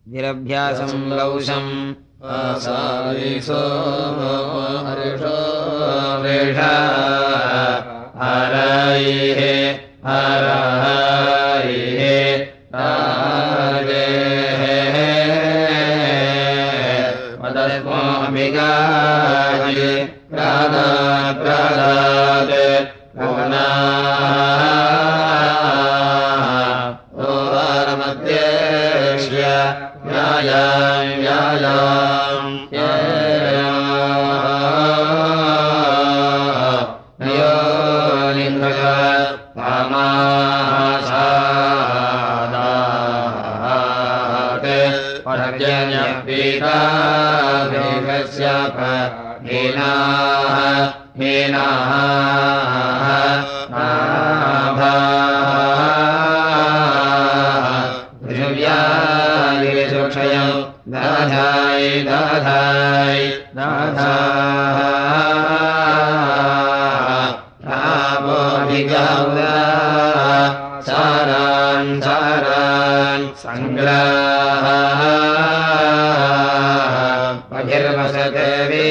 विरभ्यासं लौषम् आसाविसो हरिषो वृषा हरैः हरैः राजेः मदस्मोऽभिगाये प्रादात् प्रादात् ओवारमध्येष्य व्यायाम् व्यायाम् नयोनिन्द्रज वामासादात् पर्जन्यपीता वेगस्याप हीनाः हीनाः पृथिव्यादिषुक्षयम् दाधाय दाधाय दाधापोऽधिगौदा सारान् सारान् सङ्ग्राह पथिर्वसते वे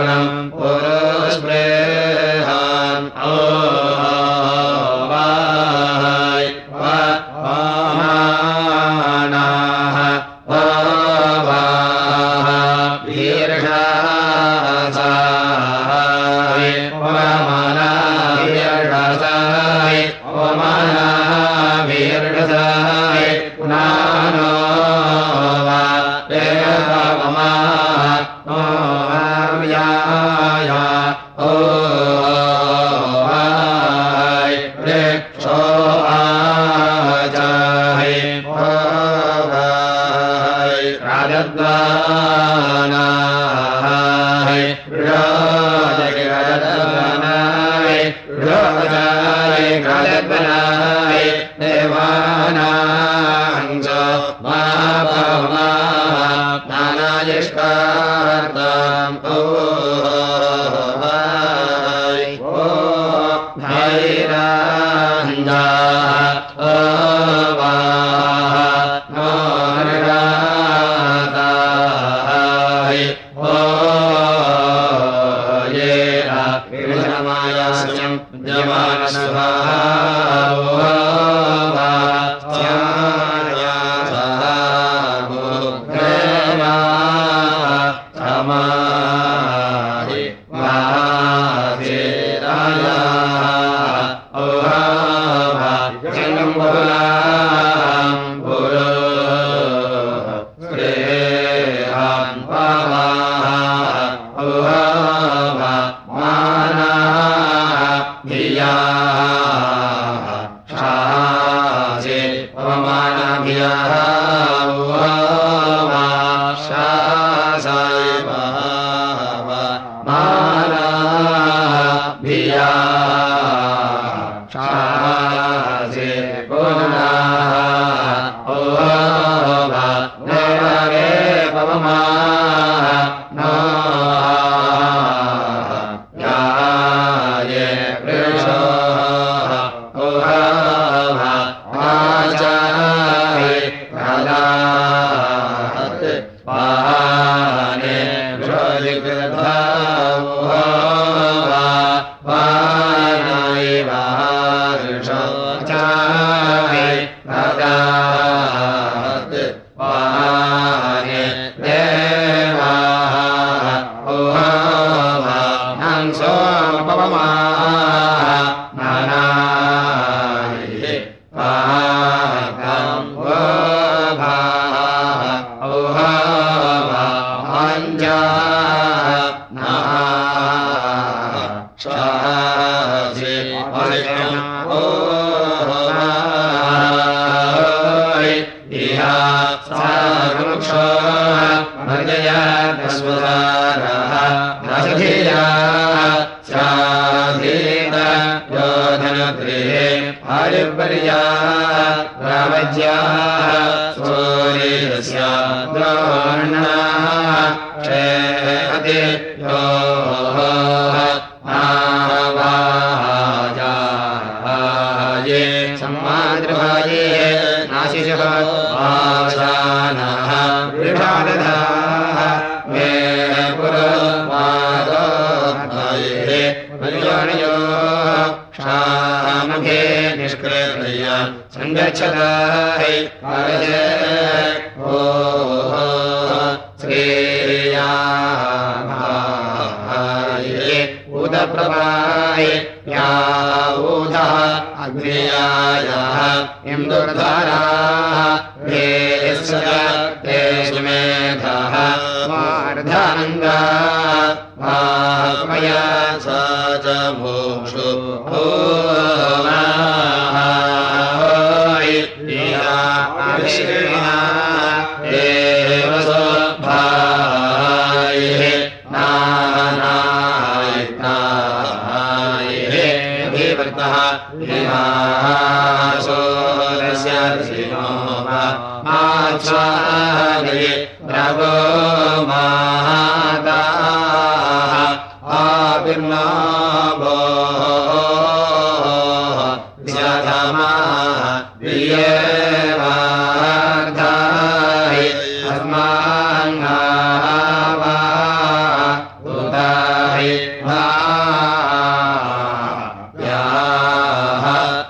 पूर्णम् पूर्वस्पृहान् ओवाय वामानाः ओवाः वीर्षासाय वमानाभिर्षासाय वमानाभिर्षासाय पुनानो वा देवमा ओव्याय ओवाय वृक्षो आजाय ओवाय राजद्वानाय राजद्वानाय राजाय राजद्वानाय देवानां च मापमा नानायष्कार्ताम् ओवाय भैरान्दाः ओवाः नोर्गाताय ओयेरा विषमायास्यम् विद्यमानस्वाहा अस्माङ्गावा याः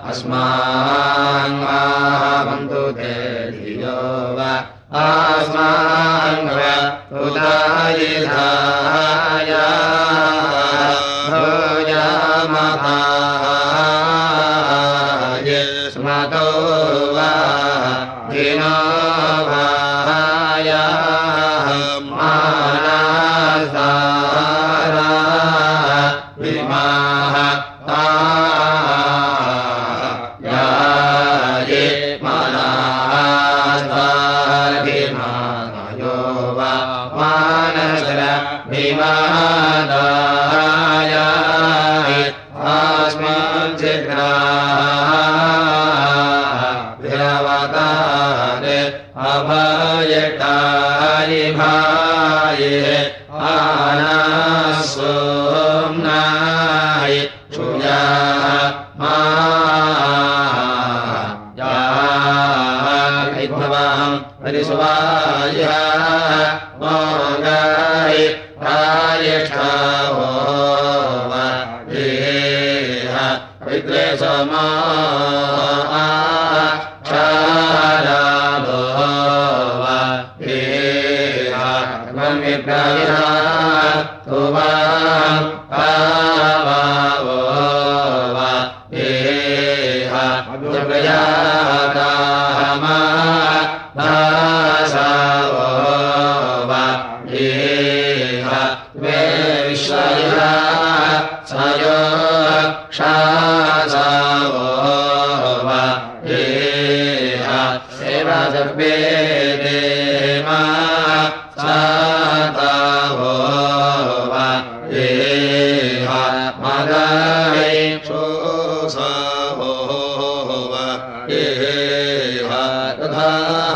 अस्मान्वावन्तु ते धियो वा अस्मान्वा उदायिधाय भूयामहाय स्मतो वा दिनो वाय मानसारा विमाः याये मानसाधिमानयो वा मानसर विमादाय अस्मज्जिग्राभिरवतारे अभयटारि भाये आनसोम्नाय क्षुयाः मायाः परिसुवायः मोगाय प्रायष्ठावो देह पवित्रे समा क्षाराभो देह विप्रायः तुवां पावावो देह जगयातामा भासावो देह वे विश्वयः सयो क्षासावो देह सेवाजर्वे देमा सातावो देह मदाय क्षोसावो देह तथाः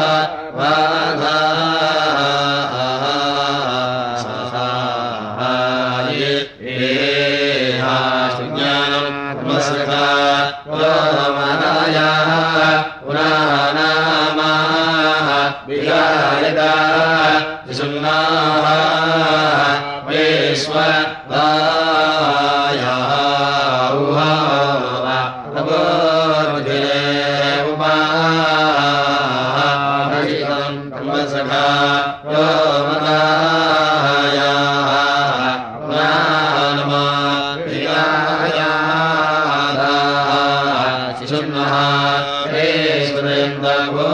वाधाः देह सुज्ञानम् त्वसखा त्वमनायाः पुराणामाः विहायता विसुन्नाः वेश्वरायाः उहावा तपोर्मुधिरे उपाहितम् त्वसखा त्वमनायाः पुराणमा विहायाः शिशुन्नः वेश्वरेन्द्रवो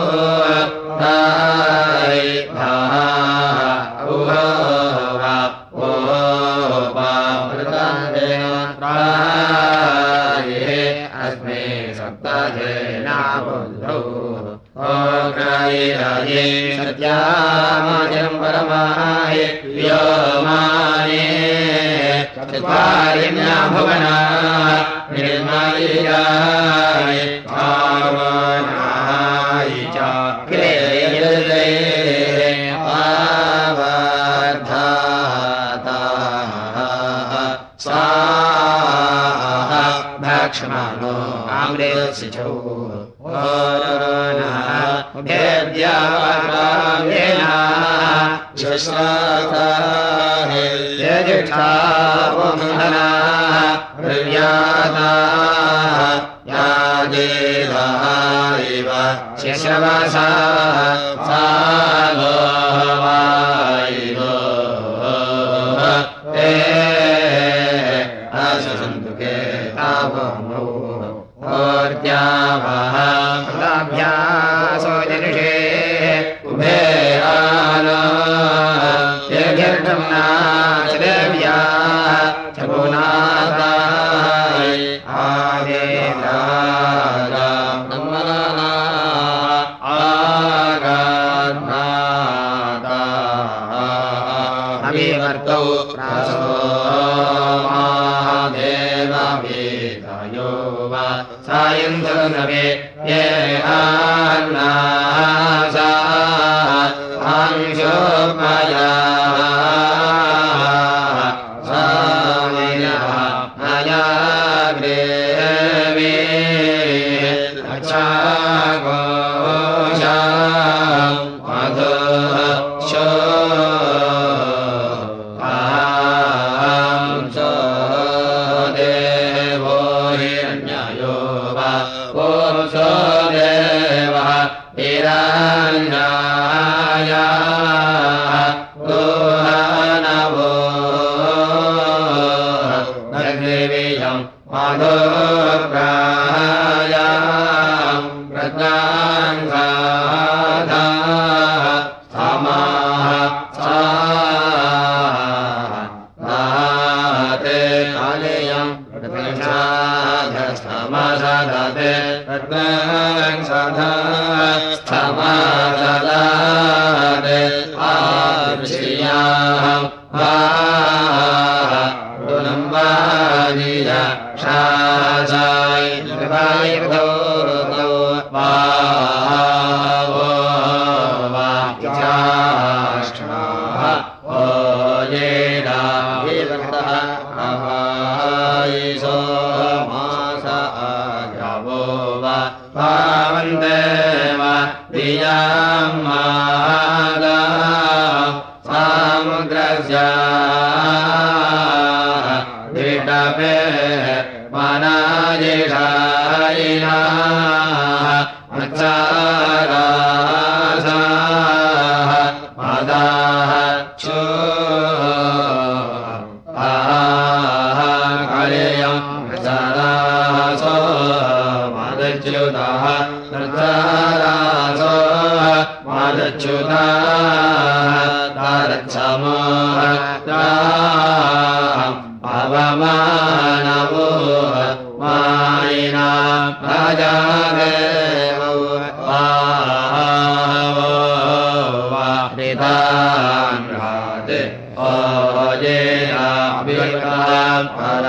अस्मे सप्ताधेनाबुद्धौ ओग्राये सत्यामाजम् परमाय व्योमाने चत्वारिण्या भुवना निर्मलीयाय पावनाय च क्लेयते आवर्धाताः स्वाहा भक्ष्मणो अमृतसिचौ भेद्यावावेना विश्राताः यजुष्ठावमहना प्रव्याताः याजेदाः इव शिशवसा सालोवायिरो ते अससन्तु केतावमो ओर्द्यावः प्रदाभ्यासो जनिषे उभे आलो यगिर्दम्ना चदेव्या चपुनाताय आदेदागा नम्मनाना आगान्नाता अभिवर्तौ प्रासो महादेववेदयो वा सायन्दनवे ये आन्नासा अंशोपया स्वामिनः अयाग्रेवे अच्छागोषा मधुः शो माधोग्रायाम् प्रज्ञाङ्गाधा समाः साते कालेयम् प्रज्ञाधस्तमसदते प्रज्ञाङ्गधा स्थमसदते आदृश्याम् दुलम्बादिया शासाय निर्वायुधो वाचाष्टाः ओयेदा विवर्तः अहायिसो मास आजवो वा पावन्देव दियामादा सामुद्रस्य दिटपे मनाजिषायिना मच्चारासाः मदाः चो कलेयम् मच्चारासो मदच्युतः मच्चारासो मदच्युतः तारच्छमो पवमानवो मायिना प्रजादेवो वावो वारितान्राते ओजेयाभिर्गाम्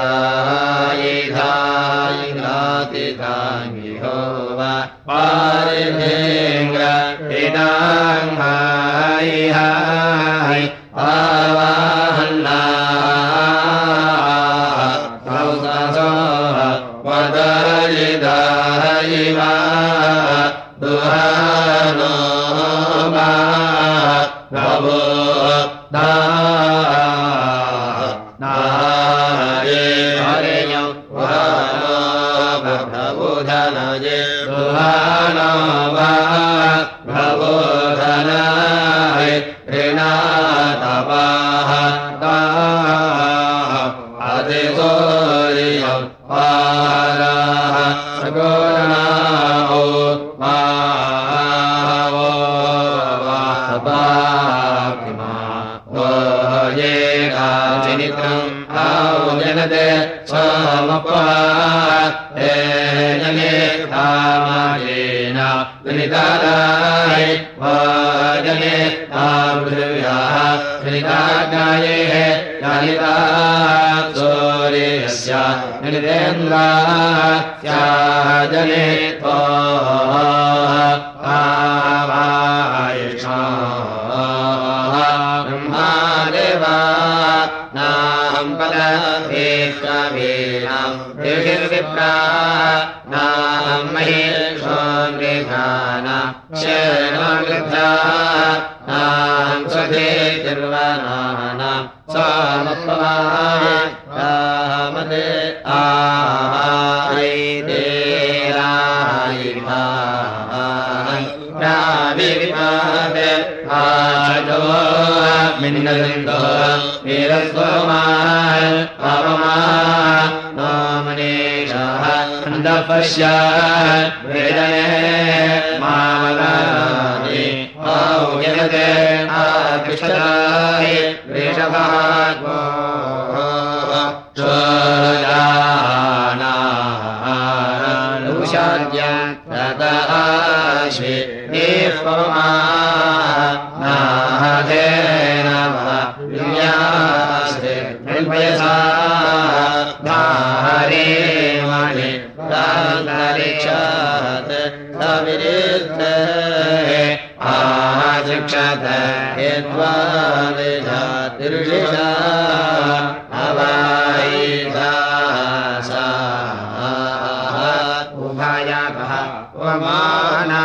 परायिधायिनातिताङ्गिहो वा पारिधेङ्ग्र इदाङ् हायि हायि आवाहन्ना वदलिदायिवा दुहानो वा प्रभो नाये हरियम् वहानो प्रभुधनये दुहानो वा प्रभुधनाय ऋणातपाः अधिसोरियम् पाराः सगोनाओ मावो वासपाप्तिमा वो ये काचिनित्रम् आवजनते स्वमपा हे जने कामायेन विनितादाय वाजने तापृथिव्याः विनिताज्ञाये जानिता सूर्यस्य निदेन्द्रास्याः जने ब्रह्मादेवा नाहम् पदवेश्ववीनाम् ऋषिर्विप्रा नाहम् महेशो मृगाना शेनो गृध्रा नाहम् स्वधे निर्वनानाम् स्वामपवाय रामदे आयिदेरायिभाय राविविपादे आजो मिन्नलिन्दो वीरस्वमाय पावमा नोमनीषः अन्धपश्य वेदने मामलानि औयते आकृष्टाय वृषभागो चोरानानुषाद्य तदाश्वे निःपमा नाहदेन विन्यास्ते निर्भयसा धारे मणि प्रान्तरिक्षात् सविरिद्धे आशिक्षत यद्वादिजातिर्षिषा अवायिधासा उभयकः उपमाना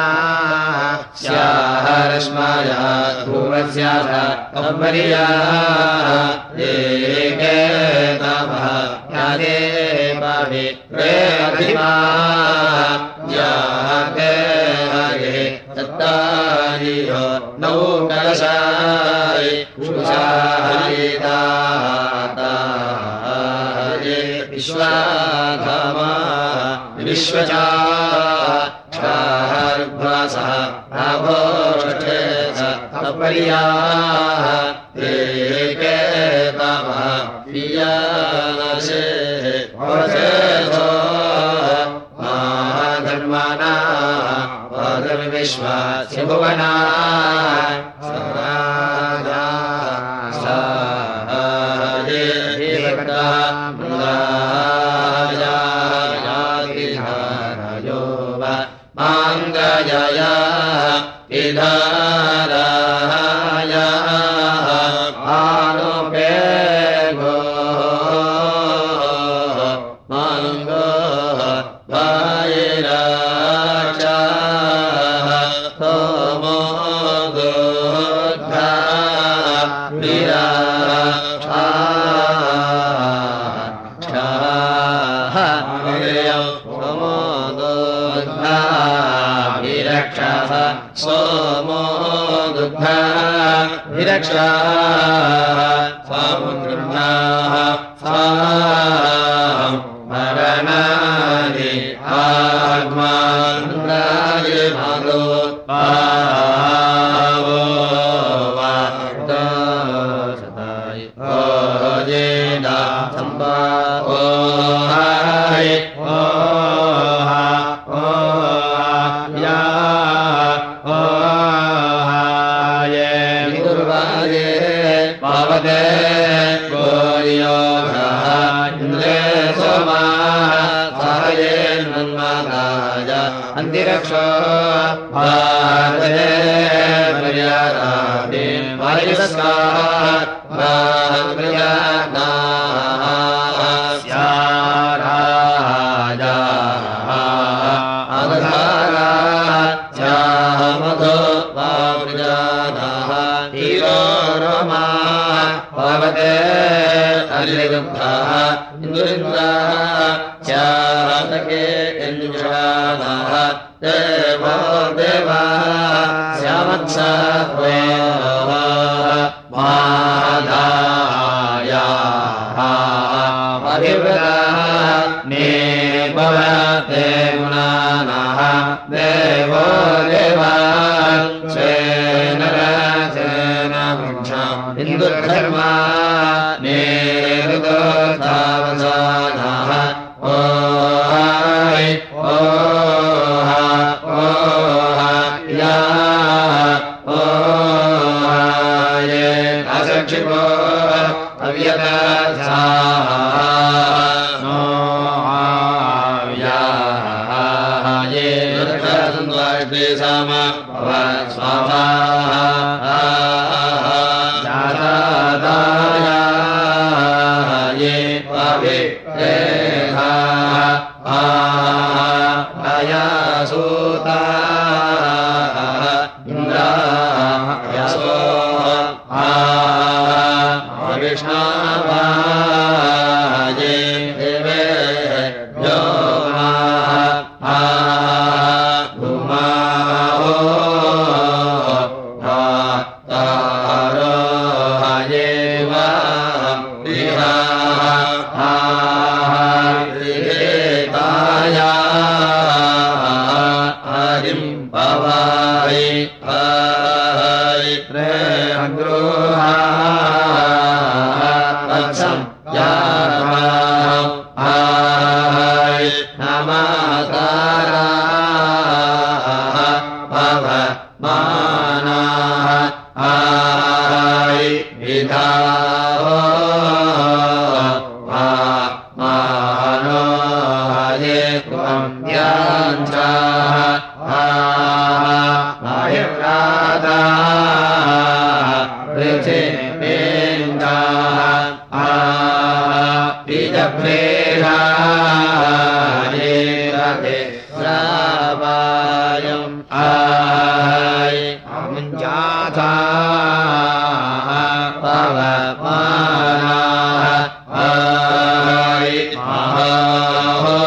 स्याहरश्मया ध्रुवस्याः अवरिया एके तवः यादे पवित्रे अधिमा याते हरे तत्तारियो नौ कलशाय शुशायिताता विश्वाधामा विश्वचा क्षार्भ्वासः राभोष्ठे तपर्याः ते कामः पियानसे वसेधो धर्माना धर्मविश्वास्य भुवना माङ्गजया विधाराया आनुपेगो माङ्गो वायिराचा होमो दुग्धा विराक्षा सोमो दुग्धा विरक्षा सामुद्रम्नाः मरणानि आग्मान्द्राय भागो पावो वादशताय ओजेदा सम्पा ओहाय पावते गोर्योगः इन्द्रे सोमाः सहये नन्मादाय अन्तिरक्षो भारते मर्यादादे वायुस्कात् स्याराजाः अवधारा स्यामधो वावृजानाः हीरो रोमा पावते अलिदुग्धाः इन्दुरिन्द्राः स्यातके इन्द्राणाः देवो देवाः स्यामत्सत्वे माधायाः परिव्रताः निभवते गुणानाः देवो देवाः स्वेन हिन्दुधर्मा नेरुदो धावसानाः ओहाय ओहा ओहा या ओहाय असक्षिपो अव्यतासाः नोहाव्याये दुर्गसन्द्वाष्टे सामा स्वाहा ये पावे सूता इन्द्रा यशो विष्णावाये देवे व्योमा धूमाहो तारोहाये वा पवाय रे अग्रोहा वत्सं यामा नमस्कारा पव मानाः विधावो मानो हये त्वं याञ्चाः आयुर्राधा पृथिवीन्द्राः बीजभ्रेषाये रथे श्रावायम् आय अमुञ्जाथा पवमानाः आय महाहो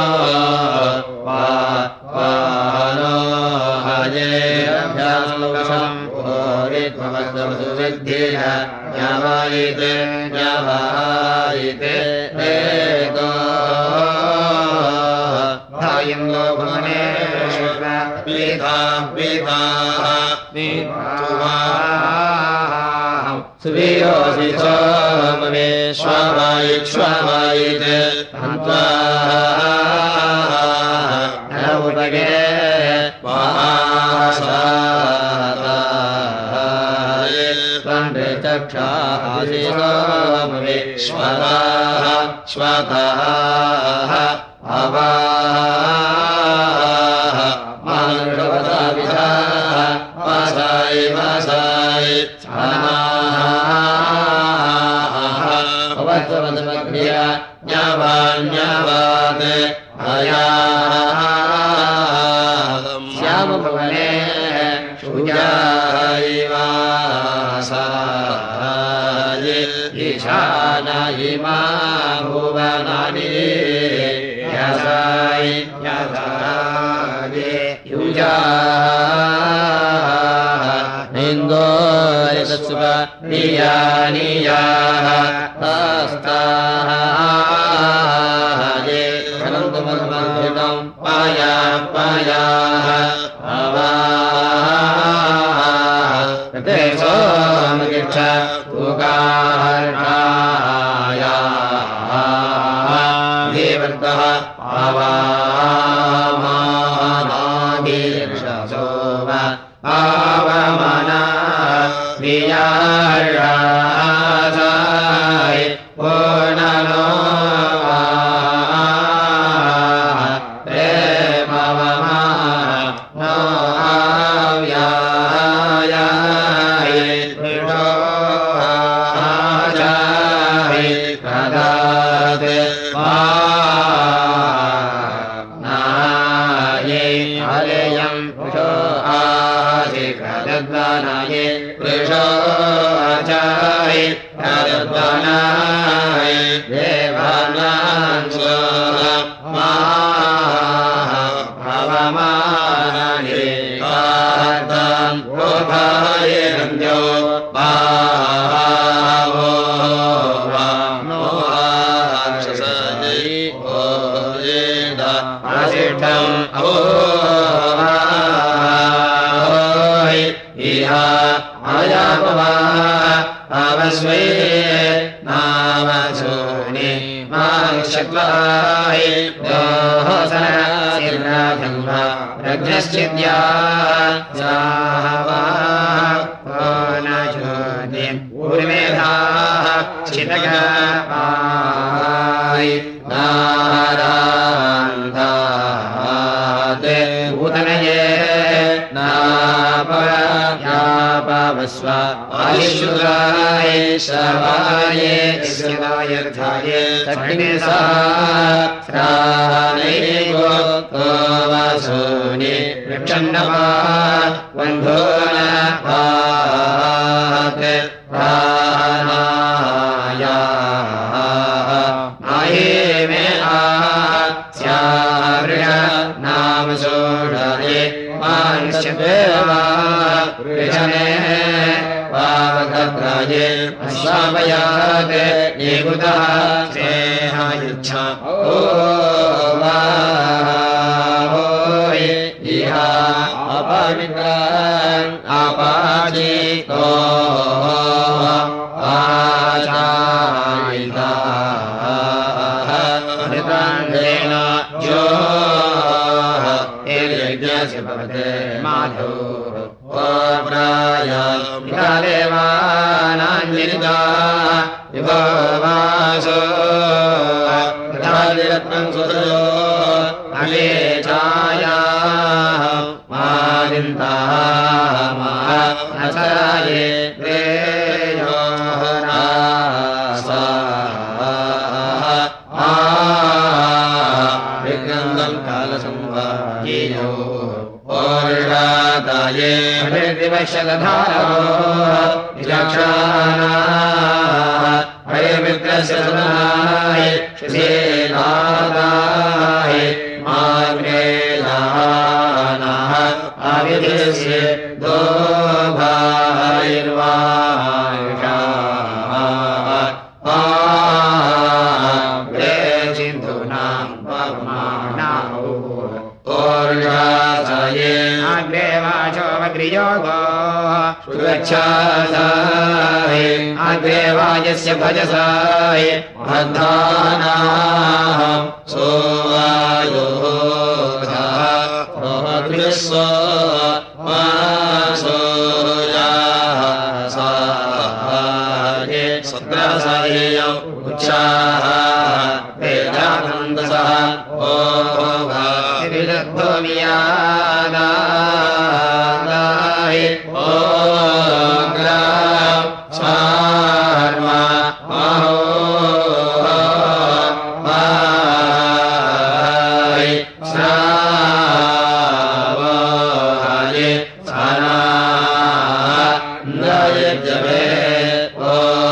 पानो हये अभ्यासं भोरित्ववद्वसुविद्धिः न्यावायिते न्यावायिते वेदो सुवीरोऽसि सोमवेश्ववायिक्ष्वावायित् हन्त्वा नवुपगे चक्षासि सोमवेश्वराः स्वतः अवाः मानुषवताविधाः वासाय वासाय अवत्ववद्मध्या न्यावान्यावात् अयाम् श्यामभवने शूयाय वासाय ईशानायिमा भुवनानि यसाय यसाय युजाः इन्दोरितत्सुभ नियानियाः तास्ताः ये अनन्तमन्मन्दिरं पाया पायाः अवाः ते सोमगिच्छ तुकार्णायाः देवन्तः आवामानाभिर्षसोम आवमना वियारासाय पूर्णनो प्रेमवमा नो आव्यायाय आचाय प्रदात् नाये हरेयं पुषो आसि प्रदद्वानाये पुरुषो आचाय प्रदद्वानाय देवानां स्वामाः भवमानानि कार्तां प्रोभाय रञ्जो भावो नो आक्षसायै ओयेद असिष्ठम् अवोय इहा अयापवा अवस्वे नामसूनि माक्षत्वाय दोहसनसिर्नाथम्भा रग्नश्चिद्या साहवा ओनज्योतिम् उर्मेधाः चितगाय नारान्धात् भूतनये नापयापवस्व आयुष्युगाय शवाय स्यदायर्थाय तग्निसा श्रावणैको वसूनि वृक्षन्नवा वन्धो न पात् प्राणायाः नाये मे आस्यावृष नाम सोषाये मानुष्यदेवा वृषणे पावकत्राये अश्वापयात् निकुतः स्नेहायुच्छा ओ वाहोय इहा अपामित्रान् अपाचितो आचायिताः अमृतान्धेन जो यज्ञस्य भवते माधो प्रायादेवानाञ्जलिता विभवासो रत्नं सुतो अगे छायाः मादिन्ताः मानसाये विक्रन्दं कालसंवायेयो ओर्षाताये अभिर्दिवशदधारो विचक्षाणाः हरिमित्रस्य सुनाय श्रीनादाय माग्रेलानाः आविधस्य दोभायर्वायुषाः सिन्धूनां पवमानाः ओर्षाताये वियोगो गच्छासाय अग्रे वायस्य भजसाय महद्धानाः सोवायो विश्व सत्रसायो उच्चाः वेदानन्दसः ओ विदग्धोमियादाय ओ ग्राम स्वार्मा महो वाय श्रावाय सानाय जवे ओ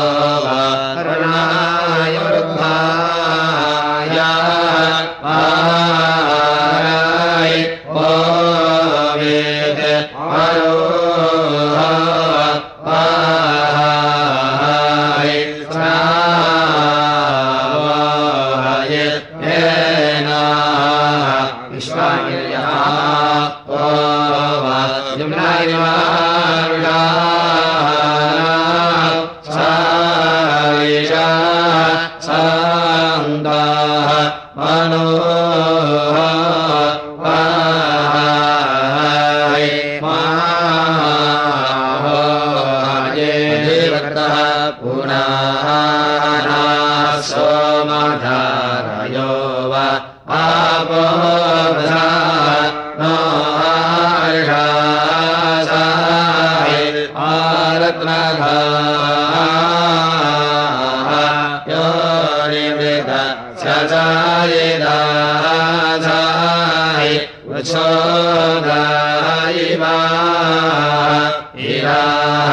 करुणाय वृद्धाय वाराय ओ वेद वाय श्रावाय येना विश्वाय ओ यमुनाय सायशा सान्दाः मनो वाय माहोय देवतः पुनः सोमधारयो वा आपो नो हर्षासाय आरत्नघा योनिवृत सजायदाधाय उच्छोदाय वा इराः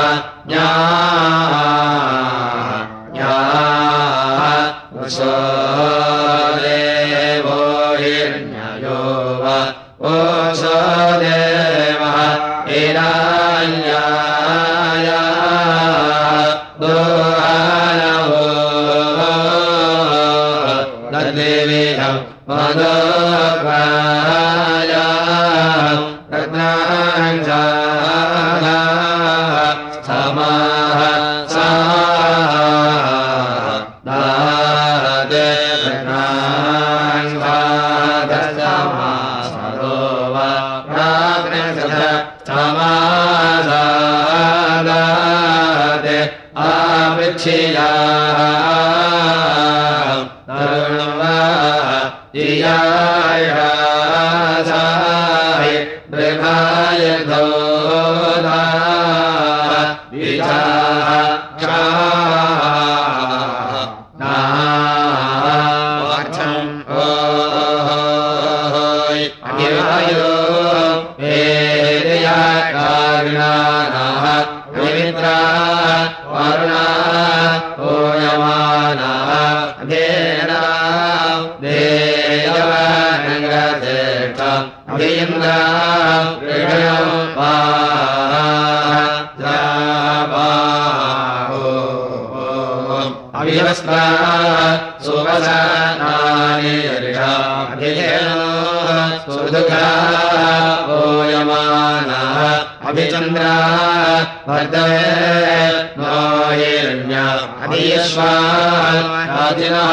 देवो हिरण्यो वा ओषो देवः हिरण्याय दोहानवो तद्देवीयं मदोपाय रत्नांशाः समाः दादे रत्नांशादसमासरो वा प्राग्नसथ समादादे आवृच्छियाः तरुणवा दियायासाय ब्रह्माय धोधा विचाः नार्थम् ओहोय अगिवायो वेदया कारुणाः पवित्रा वरुणा ओयमानः देना देयवनङ्गदेष्टम् अभिन्द्राम् कृष्णम् वाजाबाहो अभिवस्त्रा सुवसनानि ऋषाभिधेनो सुदुःखा ओयमानः अभिचन्द्रा वर्धवे नो हिरण्य अभियश्वा राजिनः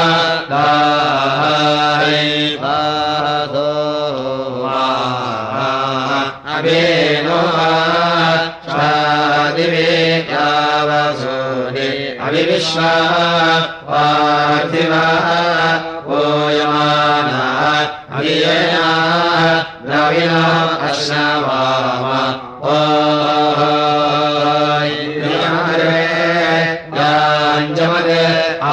दाय अभिनो शादिवे यावसूनि अभिविश्वा पार्थिवा ओयमानः अभियेना द्रविणो अश्नवाम ओय याञ्जमदे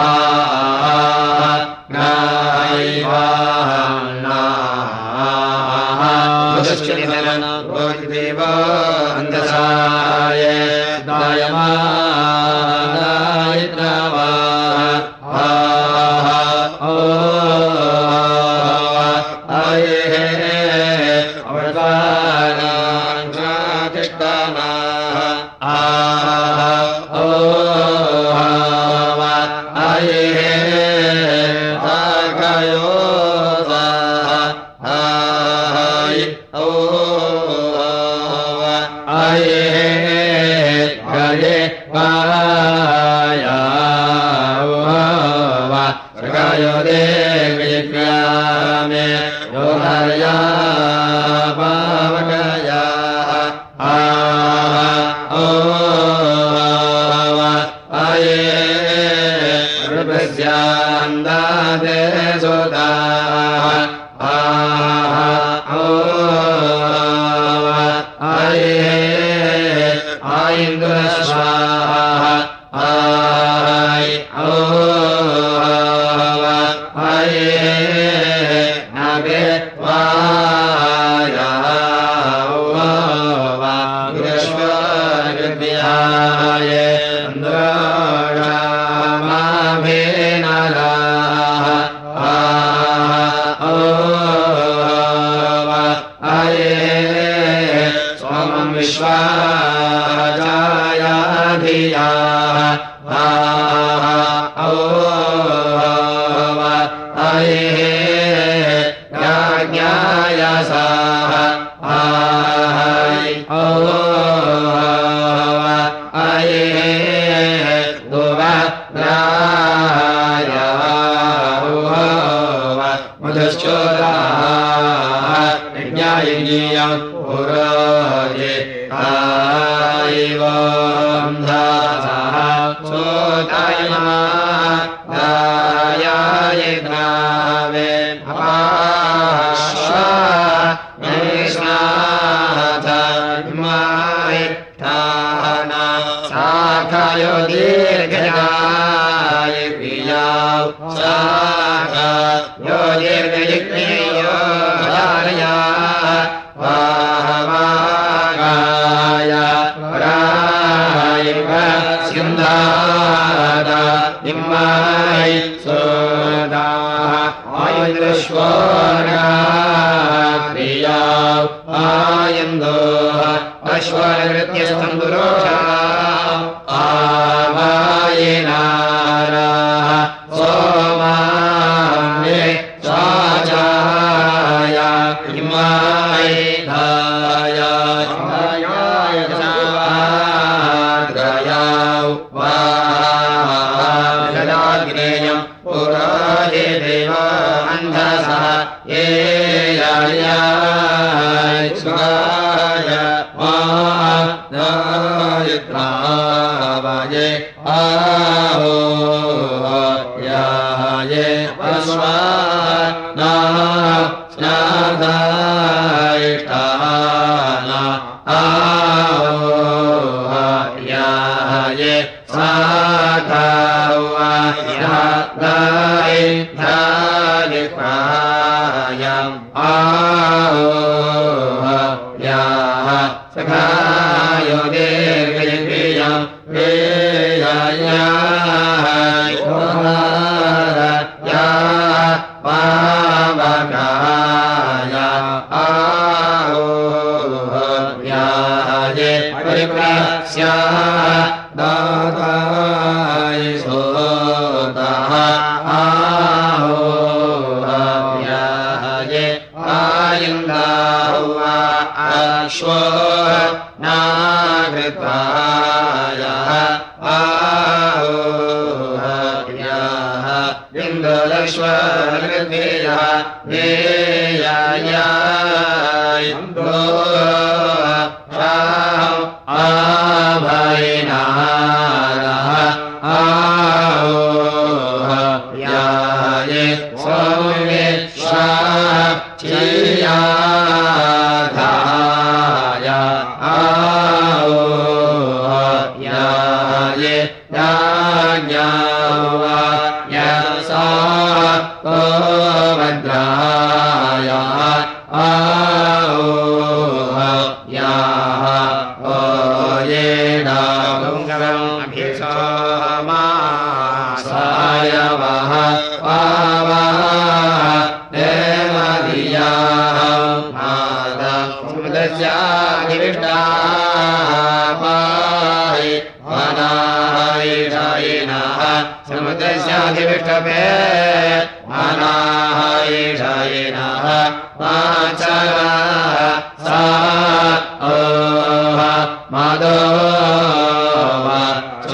अन्तसाय दायमानायित्रवा आये अवतानाङ्गातिष्ठाना आये ताकयो आये मे योगया पावकया ृभस्यान्दादे सुता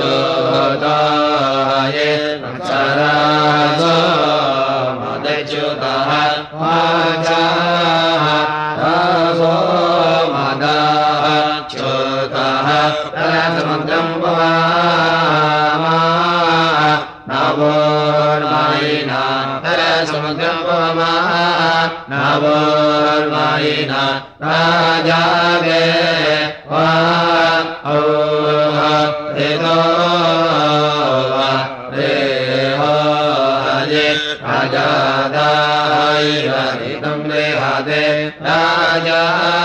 Madhu सुतः वाचाः रासो मदाः च्युतः रसमुद्रम् पवामा नवोर्वायिना रसमुद्रम् पवमा नवोर्वायिना राजागे वा औह रेतो वा रेहो हये राजादाय हरितम् रेहदे राजा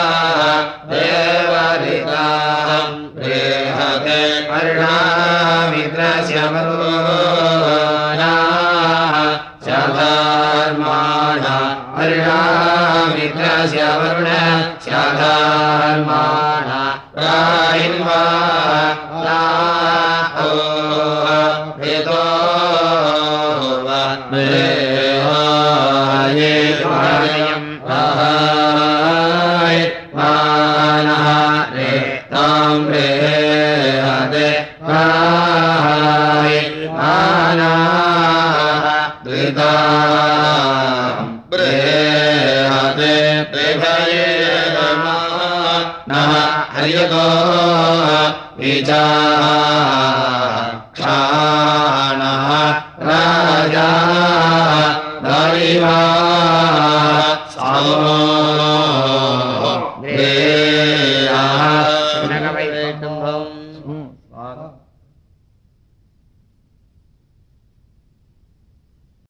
देवरिताम् रेहदे अर्णामित्रस्य वरुणाः स्याधर्माणा अर्णामित्रस्य वरुण स्याधर्माणा राहिन्वा क्षाणः राजा दैवा सामो